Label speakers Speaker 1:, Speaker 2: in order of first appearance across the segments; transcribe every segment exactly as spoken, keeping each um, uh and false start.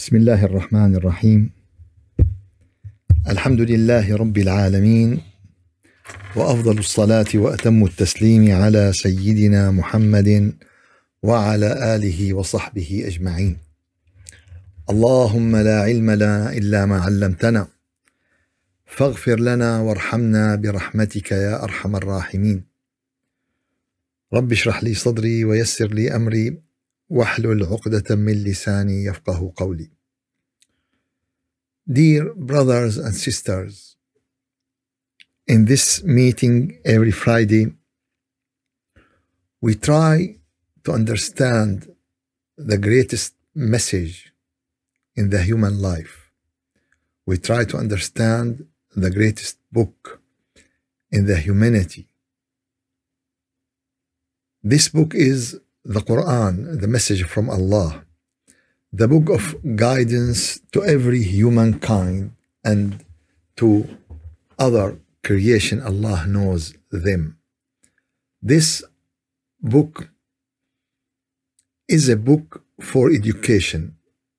Speaker 1: بسم الله الرحمن الرحيم. الحمد لله رب العالمين، وأفضل الصلاة وأتم التسليم على سيدنا محمد وعلى آله وصحبه أجمعين. اللهم لا علم لنا إلا ما علمتنا، فاغفر لنا وارحمنا برحمتك يا أرحم الراحمين. رب اشرح لي صدري ويسر لي أمري واحلل عقدة من لساني يفقه قولي. Dear brothers and sisters, in this meeting every Friday, we try to understand the greatest message in the human life. We try to understand the greatest book in the humanity. This book is the Quran, the message from Allah, the book of guidance to every humankind and to other creation. Allah knows them. This book is a book for education.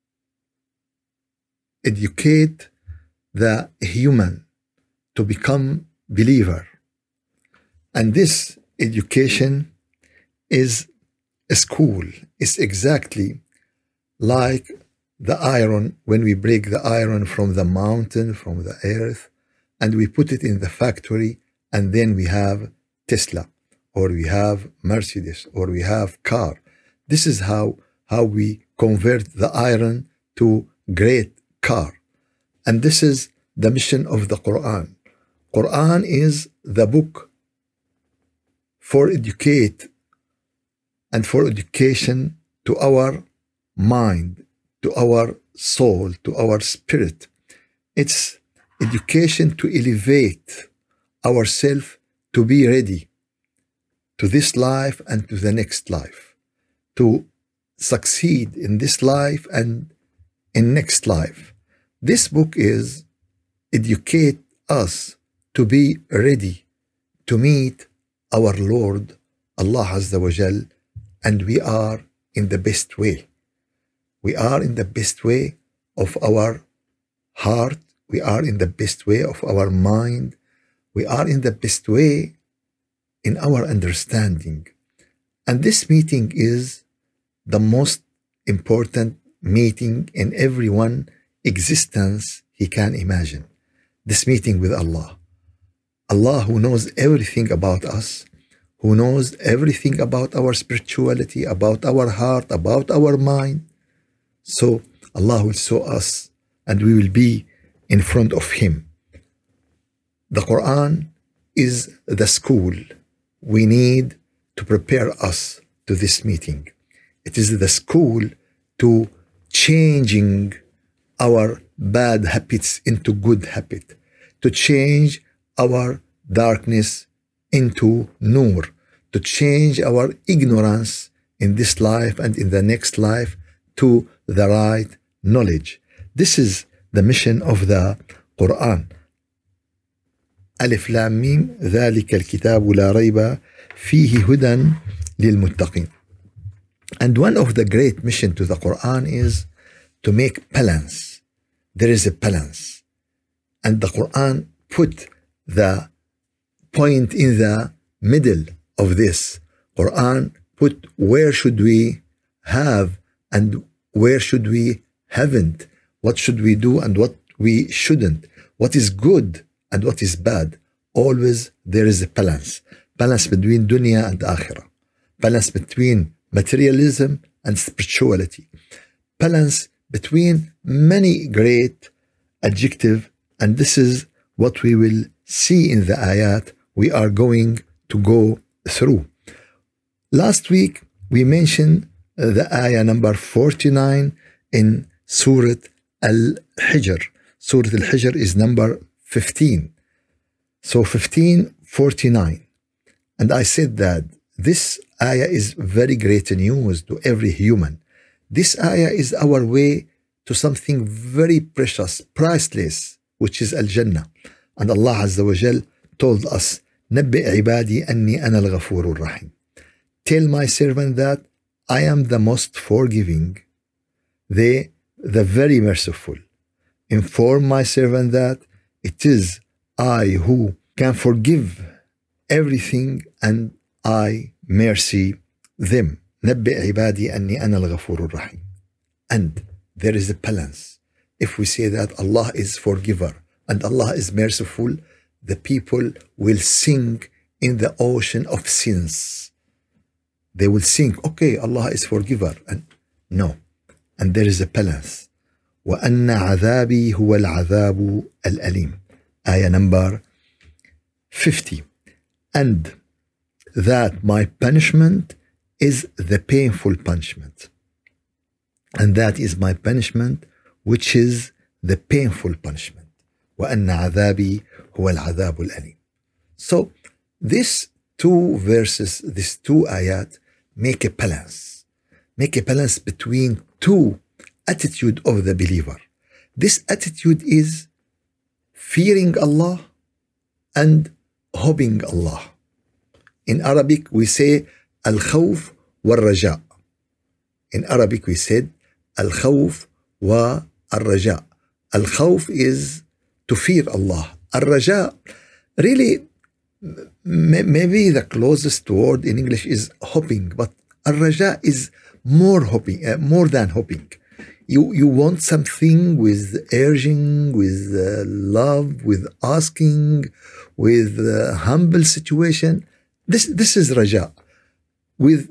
Speaker 1: Educate the human to become believer. And this education is a school. It's exactly like the iron, when we break the iron from the mountain, from the earth, and we put it in the factory, and then we have Tesla, or we have Mercedes, or we have car. This is how, how we convert the iron to great car. And this is the mission of the Quran. Quran is the book for educate and for education to our mind, to our soul, to our spirit. It's education to elevate ourselves to be ready to this life and to the next life, to succeed in this life and in next life. This book is educate us to be ready to meet our Lord, Allah Azza wa Jal, and we are in the best way. We are in the best way of our heart. We are in the best way of our mind. We are in the best way in our understanding. And this meeting is the most important meeting in everyone's existence he can imagine. This meeting with Allah. Allah, who knows everything about us, who knows everything about our spirituality, about our heart, about our mind. So Allah will show us and we will be in front of Him. The Quran is the school we need to prepare us to this meeting. It is the school to changing our bad habits into good habit, to change our darkness into nur, to change our ignorance in this life and in the next life to the right knowledge. This is the mission of the Quran. ألف لام ميم ذلك الكتاب لا ريب فيه هدى للمتقين. And one of the great mission to the Quran is to make balance. There is a balance. And the Quran put the point in the middle of this. Quran put where should we have and where should we haven't. What should we do and what we shouldn't. What is good and what is bad. Always there is a balance. Balance between dunya and akhirah. Balance between materialism and spirituality. Balance between many great adjectives. And this is what we will see in the ayat we are going to go through. Last week we mentioned uh, the ayah number forty-nine in Surah Al-Hijr. Surah Al-Hijr is number fifteen. So fifteen forty-nine. And I said that this ayah is very great news to every human. This ayah is our way to something very precious, priceless, which is Al-Jannah. And Allah Azza wa Jal told us, نبئ عبادي أني أنا الغفور الرحيم. Tell my servant that I am the most forgiving, the the very merciful. Inform my servant that it is I who can forgive everything and I mercy them. نبئ عبادي أني أنا الغفور الرحيم. And there is a balance. If we say that Allah is forgiver and Allah is merciful, the people will sink in the ocean of sins. They will think, okay, Allah is forgiver. And no. And there is a balance. وَأَنَّ عَذَابِي هُوَ الْعَذَابُ الْأَلِيمُ. Ayah number fifty. And that my punishment is the painful punishment. And that is my punishment, which is the painful punishment. وَأَنَّ عَذَابِي هُوَ الْعَذَابُ الْأَلِيمُ. So, these two verses, these two ayat, make a balance. Make a balance between two attitude of the believer. This attitude is fearing Allah and hoping Allah. In Arabic, we say al-khawf wal-raja. In Arabic, we said al-khawf wal-raja. Al-khawf is to fear Allah. Al-raja, really, maybe the closest word in English is hoping, but al-raja is more hoping, uh, more than hoping. You, you want something with urging, with uh, love, with asking, with uh, humble situation. This, this is raja. With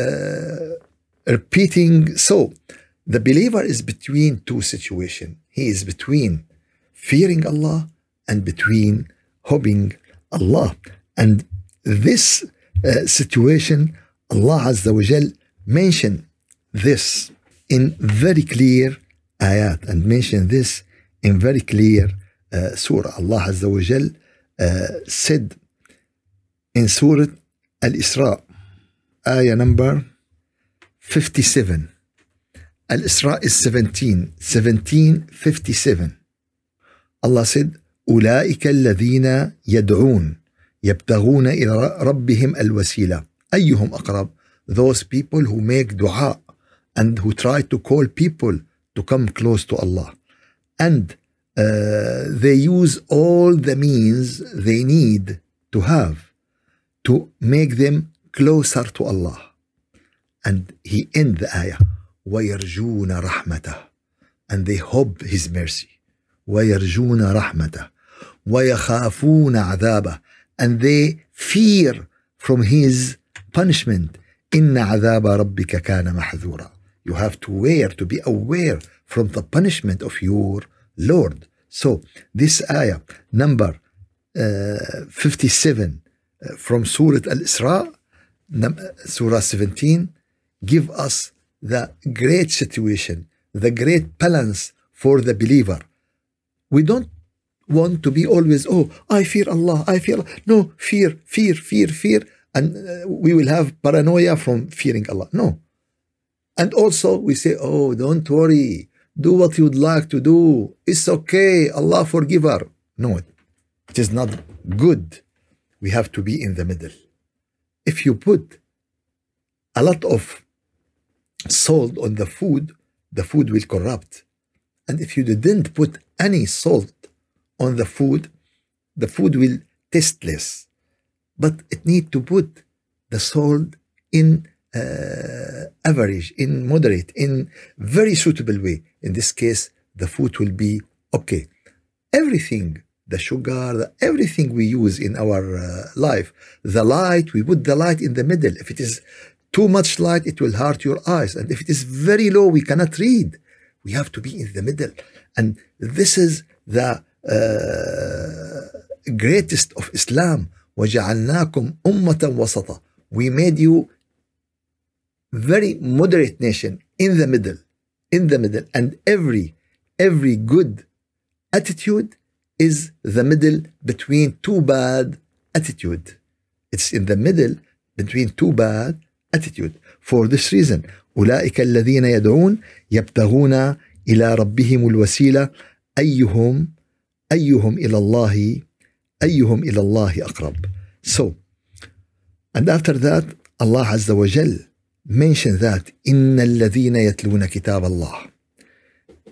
Speaker 1: uh, repeating. So, the believer is between two situations. He is between fearing Allah and between hoping Allah. And this uh, situation, Allah Azza wa Jal mentioned this in very clear ayat and mentioned this in very clear uh, surah. Allah Azza wa Jal uh, said in Surah Al-Isra, ayah number fifty-seven. Al-Isra is seventeen, seventeen fifty-seven. Allah said, أولئك الذين يدعون يبتغون إلى ربهم الوسيلة أيهم أقرب. Those people who make dua and who try to call people to come close to Allah. And uh, they use all the means they need to have to make them closer to Allah. And he ends the ayah, وَيَرْجُونَ رَحْمَتَهُ. And they hope his mercy. وَيَرْجُونَ رَحْمَتَهُ وَيَخَافُونَ عَذَابَهُ. And they fear from his punishment. إِنَّ عَذَابَ رَبِّكَ كَانَ مَحْذُورًا. You have to aware, to be aware from the punishment of your Lord. So, this ayah, number uh, fifty-seven uh, from Surah Al-Isra, Surah seventeen, give us the great situation, the great balance for the believer. We don't want to be always, oh, I fear Allah, I fear Allah. No, fear, fear, fear, fear. And uh, we will have paranoia from fearing Allah. No. And also we say, oh, don't worry. Do what you'd like to do. It's okay. Allah forgiver. No, it is not good. We have to be in the middle. If you put a lot of salt on the food, the food will corrupt. And if you didn't put any salt on the food, the food will taste less. But it need to put the salt in uh, average, in moderate, in very suitable way. In this case, the food will be okay. Everything, the sugar, the, everything we use in our uh, life, the light, we put the light in the middle. If it is too much light, it will hurt your eyes. And if it is very low, we cannot read. We have to be in the middle. And this is the uh, greatest of Islam. وَجَعَلْنَاكُمْ أُمَّةً وَسَطًا. We made you very moderate nation in the middle, in the middle. And every, every good attitude is the middle between two bad attitude. It's in the middle between two bad attitude. For this reason, أولئك الذين يدعون يبتغون إلى ربهم الوسيلة أيهم أيهم إلى الله أيهم إلى الله أقرب. So, and after that, Allah Azza wa Jal mentioned that إن الذين يتلون كتاب الله.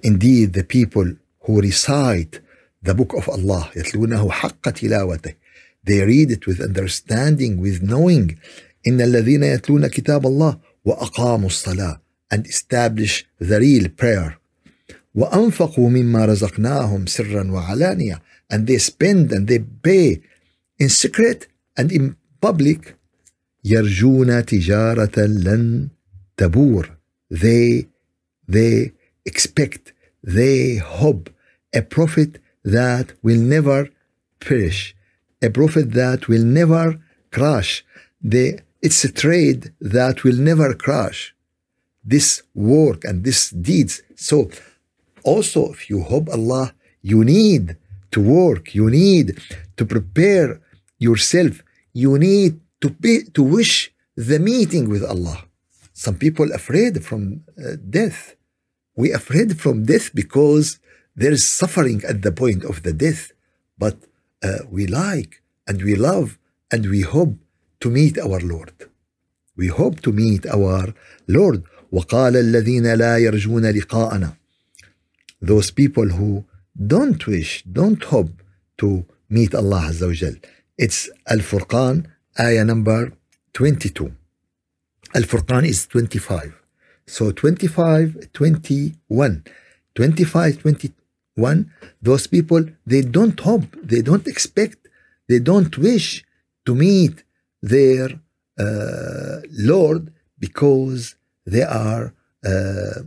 Speaker 1: indeed the people who recite the book of Allah يتلونه حق تلاوته, they read it with understanding, with knowing. إن الذين يتلون كتاب الله وأقاموا الصلاة, and establish the real prayer. وأنفقوا مما رزقناهم سرا وعلانية, and they spend and they pay in secret and in public. يرجون تجارة لن تبور, they they expect, they hope a profit that will never perish, a profit that will never crash. They, it's a trade that will never crash, this work and this deeds. So also, if you hope Allah, you need to work, you need to prepare yourself, you need to be, to wish the meeting with Allah. Some people afraid from uh, death. We afraid from death because there is suffering at the point of the death. But uh, we like and we love and we hope to meet our Lord. We hope to meet our Lord. وقال الذين لا يرجون لقاءنا, those people who don't wish, don't hope to meet Allah Azza wa Jal. It's Al-Furqan, ayah number twenty-two. Al-Furqan is twenty-five. So twenty-five, twenty-one. twenty-five, twenty-one, those people, they don't hope, they don't expect, they don't wish to meet their uh, Lord because they are, uh,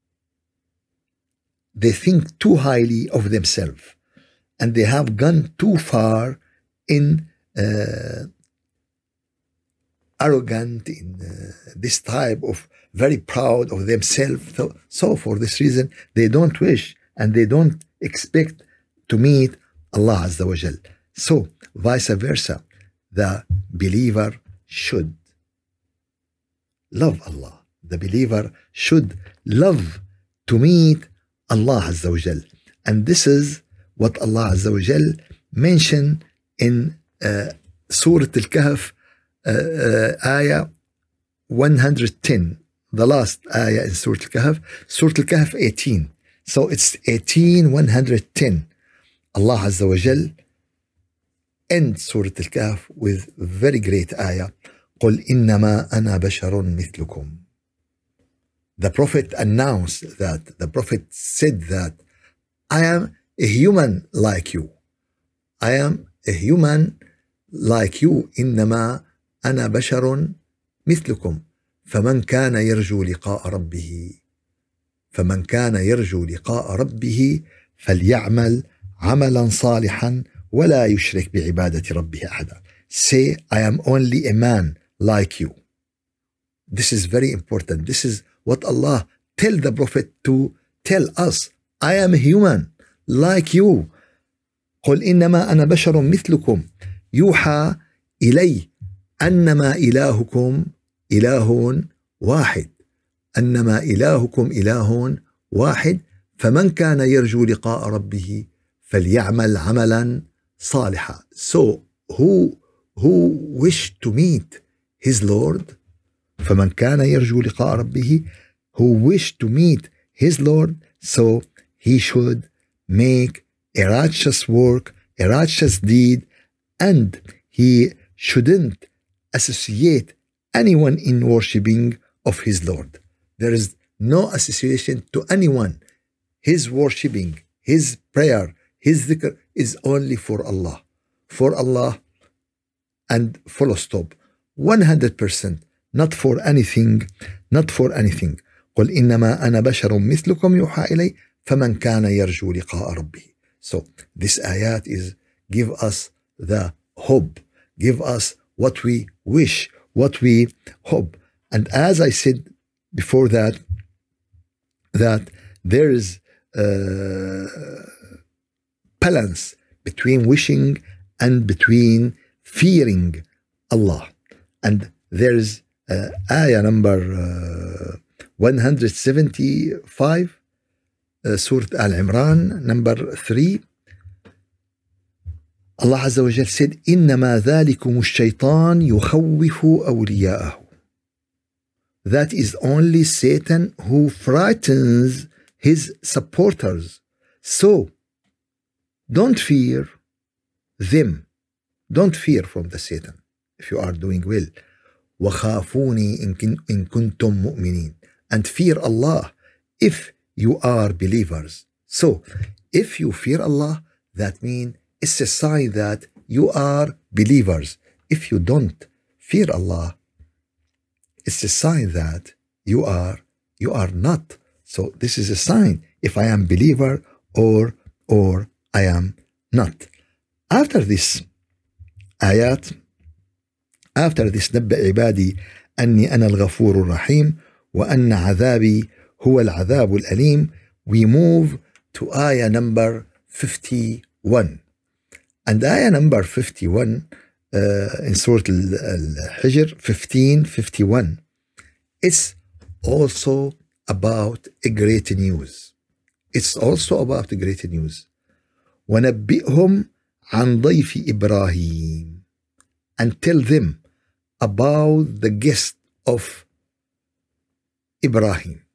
Speaker 1: they think too highly of themselves and they have gone too far in uh, arrogant, in uh, this type of very proud of themselves. So, so for this reason, they don't wish and they don't expect to meet Allah Azza wa Jal. So, vice versa, the believer should love Allah. The believer should love to meet Allah Azza wa Jal. And this is what Allah Azza wa Jal mentioned in uh, Surah Al-Kahf, uh, uh, ayah one hundred ten. The last ayah in Surah Al-Kahf, Surah Al-Kahf eighteen. So it's eighteen, one hundred ten. Allah Azza wa Jal ends Surah Al-Kahf with very great ayah. قُلْ إِنَّمَا أَنَا بَشَرٌ مِثْلُكُمْ. The Prophet announced that, the Prophet said that, I am a human like you. I am a human like you. إِنَّمَا أَنَا بَشَرٌ مِثْلُكُمْ. فمن كان يرجو لقاء ربه فمن كان يرجو لقاء ربه فليعمل عملا صالحا ولا يشرك بعبادة ربه أحدا. Say, I am only a man like you. This is very important. This is what Allah tell the Prophet to tell us. I am a human like you. قل إنما أنا بشر مثلكم يوحى إلي أنما إلهكم إله واحد أنما إلهكم إله واحد فمن كان يرجو لقاء ربه فليعمل عملا صالحا. So who who wish to meet his Lord, فمن كان يرجو لقاء ربه, who wish to meet his Lord, so he should make a righteous work, a righteous deed, and he shouldn't associate anyone in worshipping of his Lord. There is no association to anyone. His worshipping, his prayer, his dhikr is only for Allah. For Allah and full stop. one hundred percent. Not for anything. Not for anything. قل إنما أنا بشر مثلكم يوحى إلي فمن كان يرجو لقاء ربه. So this ayat is give us the hope. Give us what we wish, what we hope. And as I said before that, that there is a balance between wishing and between fearing Allah. And there is uh, ayah number uh, one hundred seventy-five, uh, Surah Al-Imran, number three. Allah Azza wa Jal said, إِنَّمَا ذَلِكُمُ الشَّيْطَانِ يُخَوِّفُ أَوْلِيَاءَهُ. That is only Satan who frightens his supporters. So don't fear them. Don't fear from the Satan if you are doing well. وَخَافُونِي إِن كُنْتُم مُؤْمِنِينَ. And fear Allah if you are believers. So if you fear Allah, that means it's a sign that you are believers. If you don't fear Allah, it's a sign that you are you are not. So this is a sign if I am believer or or I am not. After this ayat, after this نبأ عبادي أني أنا الغفور الرحيم وأن عذابي هو العذاب الأليم, we move to ayah number fifty-one. And ayah number fifty-one uh, in Surah Al-Hijr fifteen fifty-one, it's also about a great news. It's also about a great news. وَنَبِّئْهُمْ عَنْ ضَيْفِ إِبْرَاهِيمَ. And tell them about the guest of Ibrahim.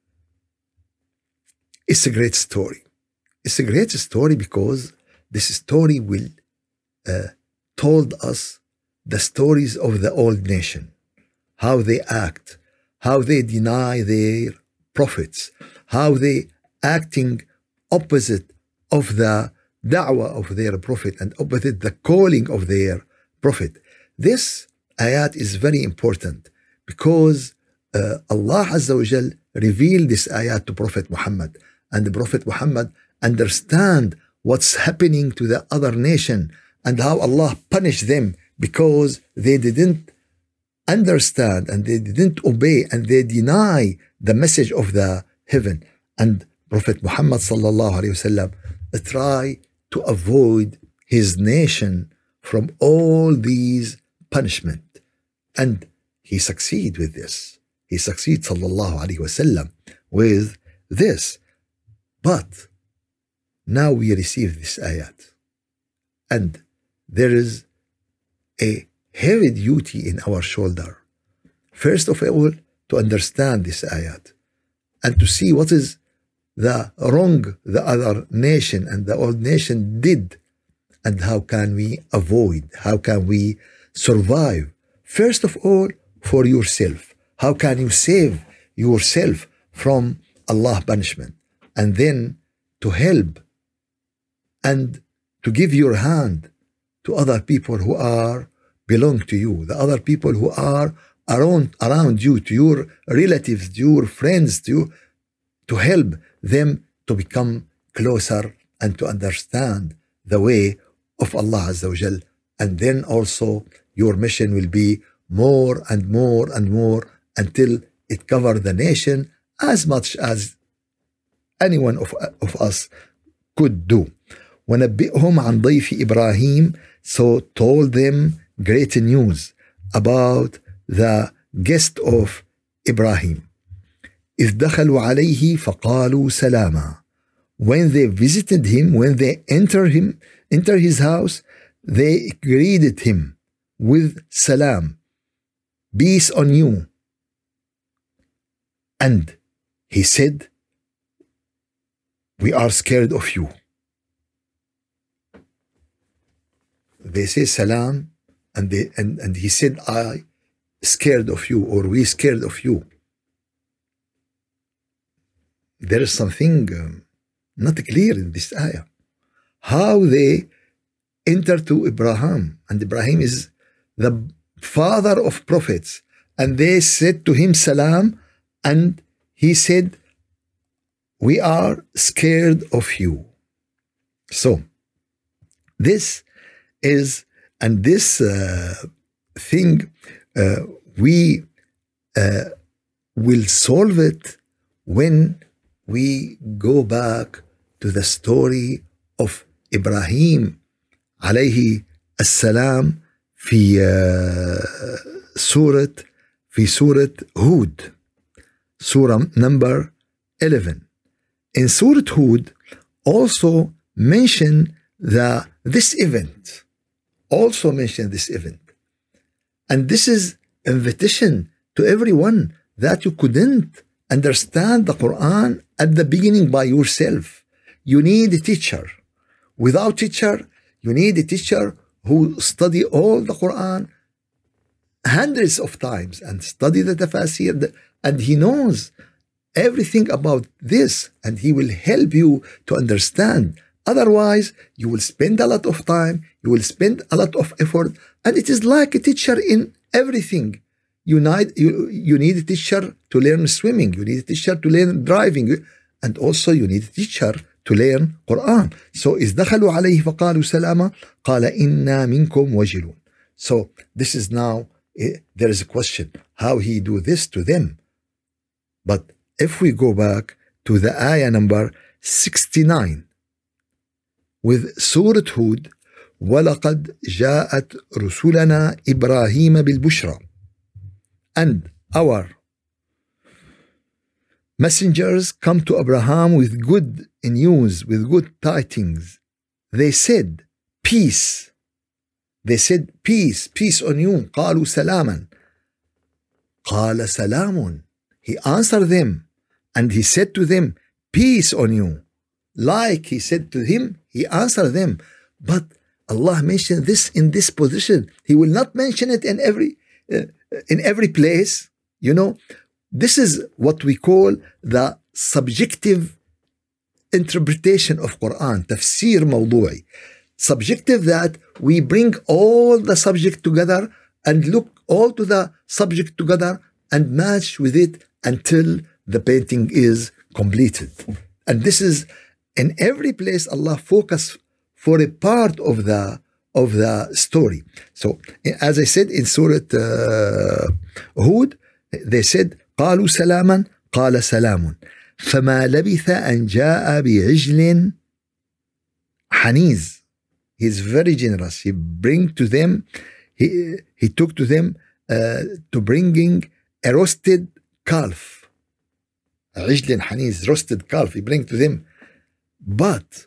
Speaker 1: It's a great story. It's a great story because this story will uh, told us the stories of the old nation, how they act, how they deny their prophets, how they acting opposite of the da'wah of their prophet and opposite the calling of their prophet. This ayat is very important because uh, Allah Azza wa Jal revealed this ayat to Prophet Muhammad, and the Prophet Muhammad understand what's happening to the other nation and how Allah punished them because they didn't understand and they didn't obey and they deny the message of the heaven. And Prophet Muhammad sallallahu alaihi wasallam try to avoid his nation from all these punishment, and he succeed with this. He succeed sallallahu alaihi wasallam with this. But now we receive this ayat, and there is a heavy duty in our shoulder. First of all, to understand this ayat and to see what is the wrong the other nation and the old nation did, and how can we avoid, how can we survive. First of all, for yourself. How can you save yourself from Allah's punishment? And then to help and to give your hand to other people who are belong to you, the other people who are around, around you, to your relatives, to your friends, to you, to help them to become closer and to understand the way of Allah Azza wa Jal. And then also your mission will be more and more and more until it covers the nation as much as anyone of, of us could do. وَنَبِّئْهُمْ عَنْ ضَيْفِ إِبْرَاهِيمَ. So told them great news about the guest of Ibrahim. إِذْ دَخَلُوا عَلَيْهِ فَقَالُوا سَلَامًا. When they visited him, when they entered him, enter his house, they greeted him with salam, peace on you. And he said, we are scared of you. They say salam, and they and, and he said, I scared of you, or we scared of you. There is something um, not clear in this ayah. How they enter to Ibrahim, and Ibrahim is the father of prophets, and they said to him salam, and he said, we are scared of you. So this is, and this uh, thing uh, we uh, will solve it when we go back to the story of Ibrahim عليه السلام في سورة في سورة هود, Surah number eleven. In Surah Hud also mention the this event, also mention this event, and this is invitation to everyone that you couldn't understand the Quran at the beginning by yourself. You need a teacher. Without teacher, you need a teacher who study all the Quran hundreds of times and study the tafasir, and he knows everything about this, and he will help you to understand. Otherwise, you will spend a lot of time, you will spend a lot of effort, and it is like a teacher in everything. You need, you, you need a teacher to learn swimming, you need a teacher to learn driving, and also you need a teacher to learn Quran. So, إذ دخلوا عليه فقالوا سلاما قال إنا منكم وجلون. So, this is now, there is a question, how he do this to them. But if we go back to the ayah number sixty-nine, with Surah Hud, وَلَقَدْ جَاءَتْ رُسُلَنَا إِبْرَاهِيمَ بِالْبُشْرَى, and our messengers come to Abraham with good news, with good tidings. They said, peace. They said, peace, peace on you. قالوا سلاما. قال سلام. He answered them, and he said to them, peace on you. Like he said to him, he answered them. But Allah mentioned this in this position. He will not mention it in every uh, in every place. You know, this is what we call the subjective interpretation of Quran, tafsir mawdu'i. Subjective, that we bring all the subject together and look all to the subject together and match with it until the painting is completed. And this is in every place Allah focus for a part of the of the story. So, as I said in Surah uh, Hud, they said, قالوا سلاما قال سلام فما لبث أن جاء بعجل حنيذ. He's very generous. He bring to them, he he took to them uh, to bringing a roasted calf. عجل حنيذ, roasted calf. He bring to them, but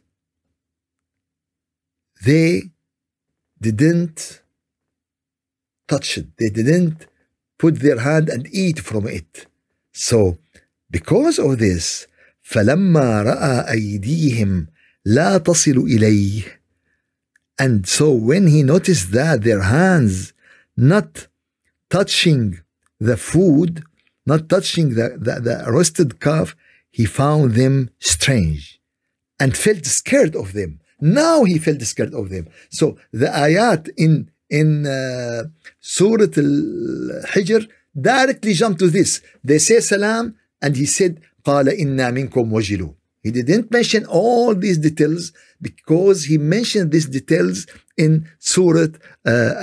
Speaker 1: they didn't touch it. They didn't put their hand and eat from it. So, because of this, فَلَمَّا رَأَى أَيْدِيهِمْ لَا تَصِلُ إِلَيْهِ. And so when he noticed that their hands not touching the food, not touching the, the, the roasted calf, he found them strange and felt scared of them. Now he felt scared of them. So the ayat in in uh, Surah Al-Hijr directly jump to this. They say salam, and he said, قَالَ إِنَّا مِنْكُمْ وَجِلُونَ. He didn't mention all these details because he mentioned these details in Surah uh,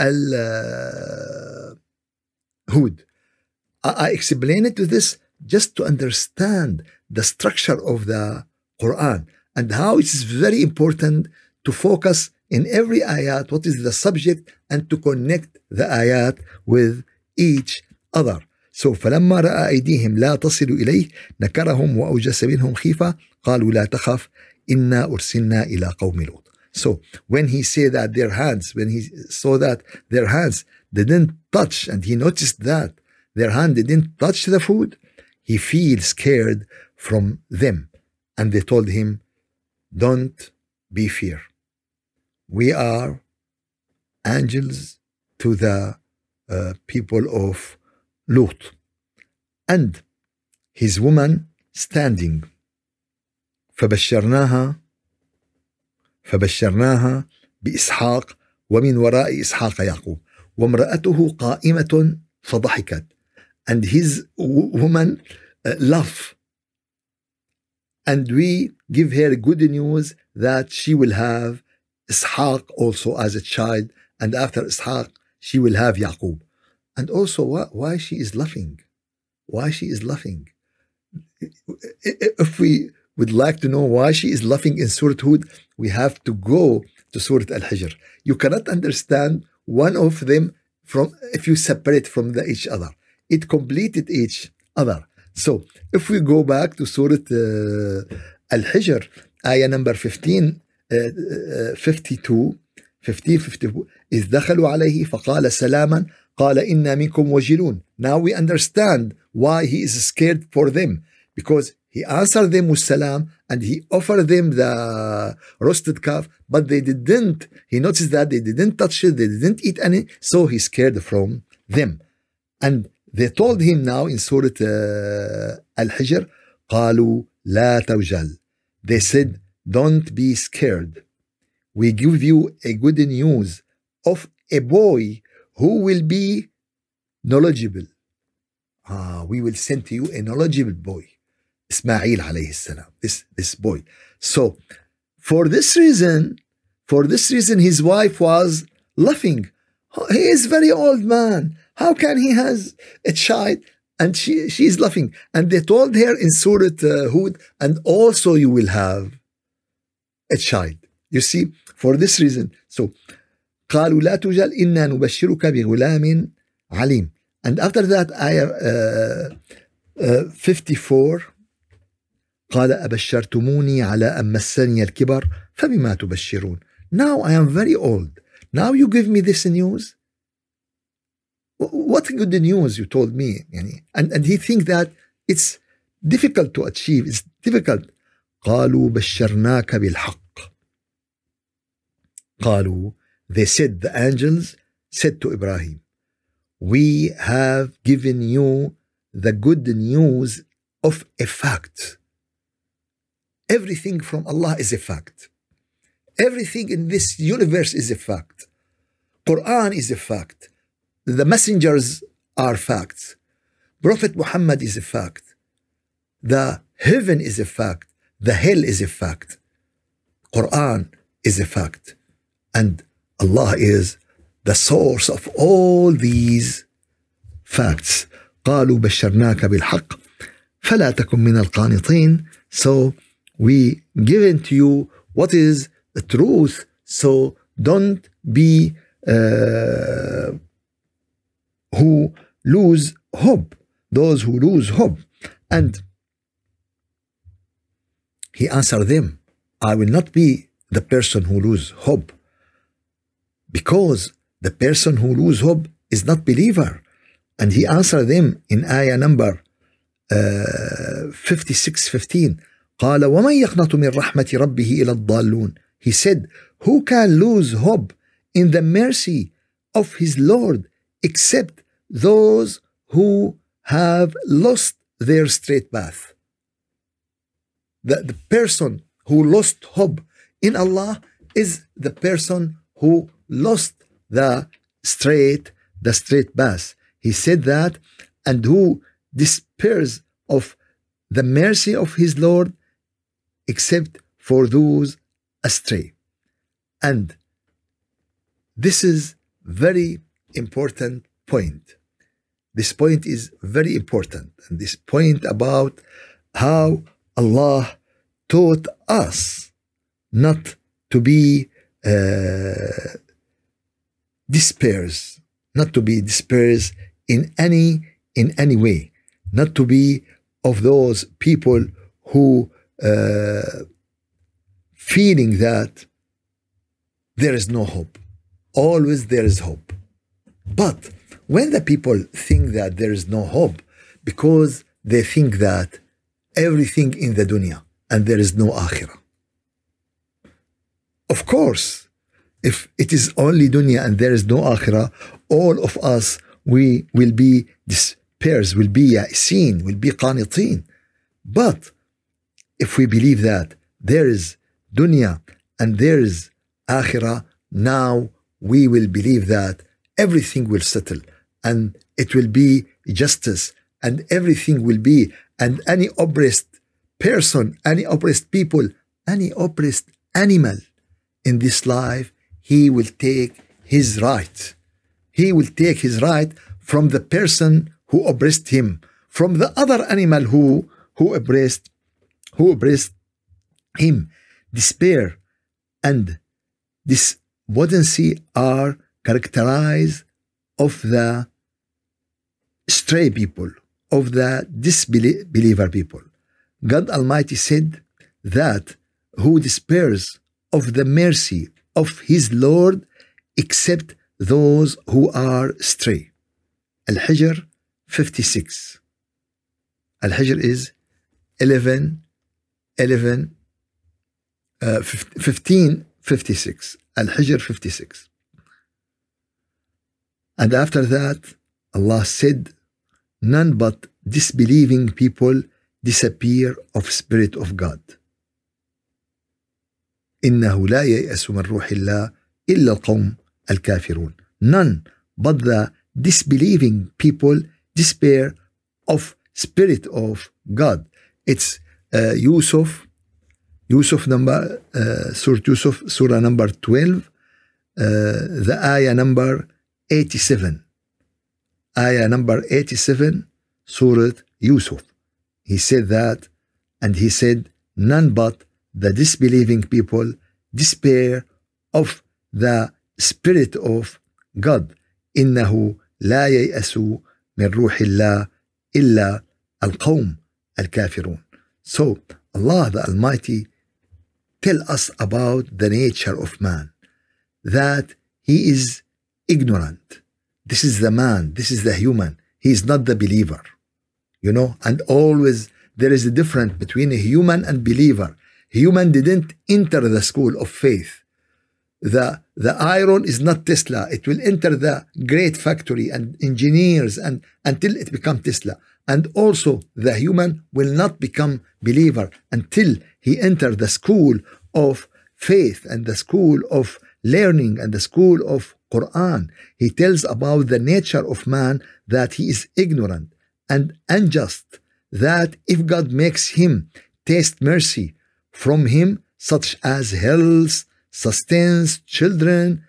Speaker 1: Al-Hud. Uh, I, I explain it to this just to understand the structure of the Quran and how it is very important to focus in every ayat what is the subject and to connect the ayat with each other. So فلما رأى أيديهم لا تصل إليه نكرهم وأوجس منهم خيفة قالوا لا تخف إنا أرسلنا إلى قوم لوط. So when he said that their hands, when he saw that their hands didn't touch, and he noticed that their hand didn't touch the food, he feels scared from them. And they told him, don't be fear. We are angels to the uh, people of Lut. And his woman standing. فبشرناها فبشرناها بإسحاق ومن وراء إسحاق يعقوب وامرأته قائمة فضحكت. And his woman uh, laughed. And we give her good news that she will have Ishaq also as a child, and after Ishaq she will have Yaqub. And also why, why she is laughing? Why she is laughing? If we would like to know why she is laughing in Surah Hud, we have to go to Surah Al-Hijr. You cannot understand one of them from if you separate from the each other. It completed each other. So if we go back to Surah uh, Al-Hijr, ayah number fifteen, uh, uh, fifty-two, fifteen, fifty-two, إذ دخلوا عليه فقال سلاما قال إنا منكم وجلون. Now we understand why he is scared for them, because he answered them with salam and he offered them the roasted calf, but they didn't. He noticed that they didn't touch it, they didn't eat any, so he's scared from them. And they told him now in Surah uh, Al-Hijr, قالوا لا توجل. They said, don't be scared. We give you a good news of a boy who will be knowledgeable. Ah, we will send to you a knowledgeable boy. Ismail alayhi salam, this, this boy. So, for this reason, for this reason, his wife was laughing. He is very old man. How can he has a child? And she, she is laughing. And they told her in Surah uh, Hud, and also you will have a child. You see, for this reason. So, قالوا لا توجل إنا نبشرك بغلام عليم. And after that, ayah uh, uh, fifty-four, قال أبشرتموني على أن مسني الكبر فبما تبشرون. Now I am very old. Now you give me this news? What good news you told me? And, and he think that it's difficult to achieve. It's difficult. قالوا بشرناك بالحق. قالوا, they said, the angels said to Ibrahim, we have given you the good news of a fact. Everything from Allah is a fact. Everything in this universe is a fact. Quran is a fact. The messengers are facts. Prophet Muhammad is a fact. The heaven is a fact. The hell is a fact. Quran is a fact. And Allah is the source of all these facts. قالوا بشرناك بالحق فلا تكن من القانطين. So we given to you what is the truth. So don't be uh, who lose hope. Those who lose hope. And he answered them, I will not be the person who lose hope, because the person who lose hope is not believer. And he answered them in ayah number uh, fifty-six fifteen. قال ومن يقنط من رحمة ربه إلى الضالون. He said, who can lose hope in the mercy of his Lord except those who have lost their straight path? The, the person who lost hope in Allah is the person who lost the straight, the straight path. He said that, and who despairs of the mercy of his Lord except for those astray. And this is very important point. This point is very important. And this point about how Allah taught us not to be uh, despairs, not to be despairs in any in any way, not to be of those people who uh, feeling that there is no hope. Always there is hope. But when the people think that there is no hope, because they think that everything in the dunya and there is no akhirah. Of course, if it is only dunya and there is no akhirah, all of us, we will be despairs, will be ya'sin, will be qanitin. But if we believe that there is dunya and there is akhirah, now we will believe that everything will settle and it will be justice and everything will be, and any oppressed person, any oppressed people, any oppressed animal in this life, he will take his right. He will take his right from the person who oppressed him, from the other animal who who oppressed who oppressed him. Despair and despondency are characterized of the stray people, of the disbeliever people. God Almighty said that who despairs of the mercy of his Lord except those who are stray. Al-Hijr fifty-six. Al-Hijr is eleven, eleven, uh, fifteen fifty-six. Al-Hijr fifty-six. And after that, Allah said, none but disbelieving people disappear of Spirit of God. إنه لا ييأس من روح الله إلا القوم الكافرون. None but the disbelieving people despair of Spirit of God. It's uh, Yusuf, Yusuf number, uh, Surah Yusuf, Surah number twelve, uh, the ayah number eighty-seven. Ayah number eighty-seven, Surah Yusuf. He said that, and he said, none but the disbelieving people despair of the Spirit of God. إنه لا ييأس من روح الله إلا القوم الكافرون. So Allah the Almighty tell us about the nature of man, that he is ignorant. This is the man, this is the human. He is not the believer. You know, and always there is a difference between a human and believer. Human didn't enter the school of faith. The, the iron is not Tesla. It will enter the great factory and engineers and until it becomes Tesla. And also the human will not become believer until he enter the school of faith and the school of learning and the school of Quran. He tells about the nature of man, that he is ignorant and unjust, that if God makes him taste mercy from him, such as health, sustains children,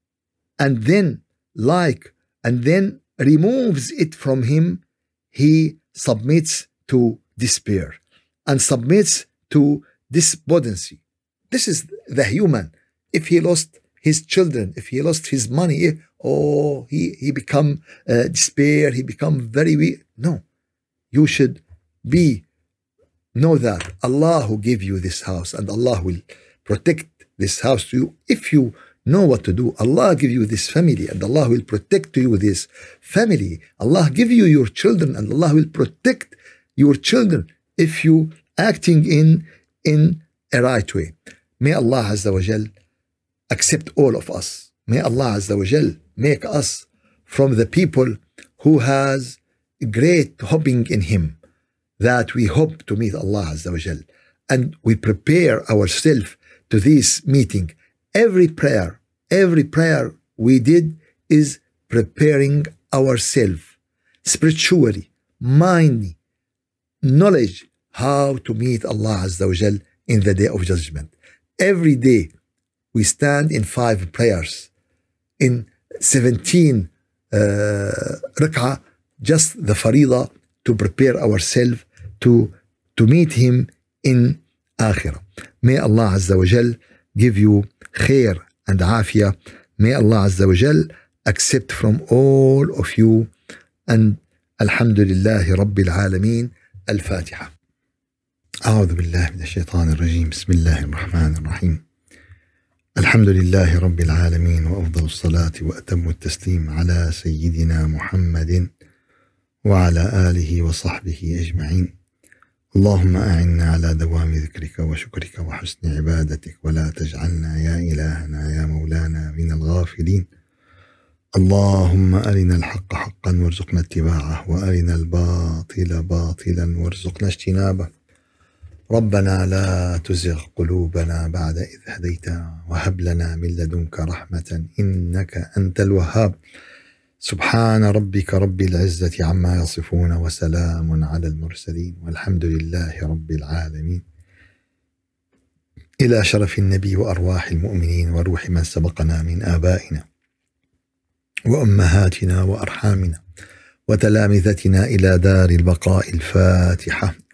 Speaker 1: and then like, and then removes it from him, he submits to despair and submits to despondency. This is the human. If he lost his children, if he lost his money, oh, he, he become uh, despair, he become very weak. No, you should be, know that Allah who gave you this house, and Allah will protect this house to you. If you know what to do, Allah give you this family, and Allah will protect you this family. Allah give you your children, and Allah will protect your children if you acting in, in a right way. May Allah Azza wa Jal accept all of us. May Allah Azza wa Jal make us from the people who has great hoping in Him, that we hope to meet Allah Azza wa Jal, and we prepare ourselves to this meeting. Every prayer, every prayer we did is preparing ourselves spiritually, mind, knowledge, how to meet Allah Azza wa Jal in the day of judgment. Every day we stand in five prayers, in seventeen uh, rak'ah, just the farida, to prepare ourselves to, to meet Him in Akhirah. May Allah Azza wa Jal give you khair and afiyah. May Allah Azza wa Jal accept from all of you. And Alhamdulillahi Rabbil Alameen. Al-Fatiha. أعوذ بالله من الشيطان الرجيم. بسم الله الرحمن الرحيم. الحمد لله رب العالمين، وأفضل الصلاة وأتم التسليم على سيدنا محمد وعلى آله وصحبه أجمعين. اللهم أعنا على دوام ذكرك وشكرك وحسن عبادتك، ولا تجعلنا يا إلهنا يا مولانا من الغافلين. اللهم أرنا الحق حقا وارزقنا اتباعه، وأرنا الباطل باطلا وارزقنا اجتنابه. ربنا لا تزغ قلوبنا بعد إذ هديتنا، وهب لنا من لدنك رحمة إنك أنت الوهاب. سبحان ربك رب العزة عما يصفون، وسلام على المرسلين، والحمد لله رب العالمين. إلى شرف النبي وأرواح المؤمنين وروح من سبقنا من آبائنا وأمهاتنا وأرحامنا وتلامذتنا إلى دار البقاء. الفاتحة.